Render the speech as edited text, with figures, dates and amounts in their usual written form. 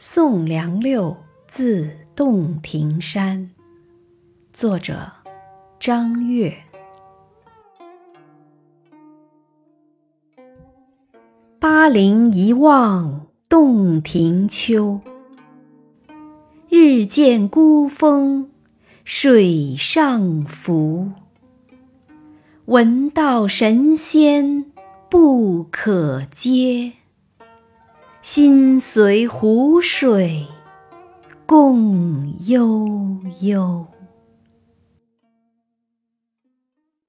送杨六自洞庭山，作者张悦。巴陵一望洞庭秋，日见孤峰水上浮。闻道神仙不可接，心随湖水共悠悠。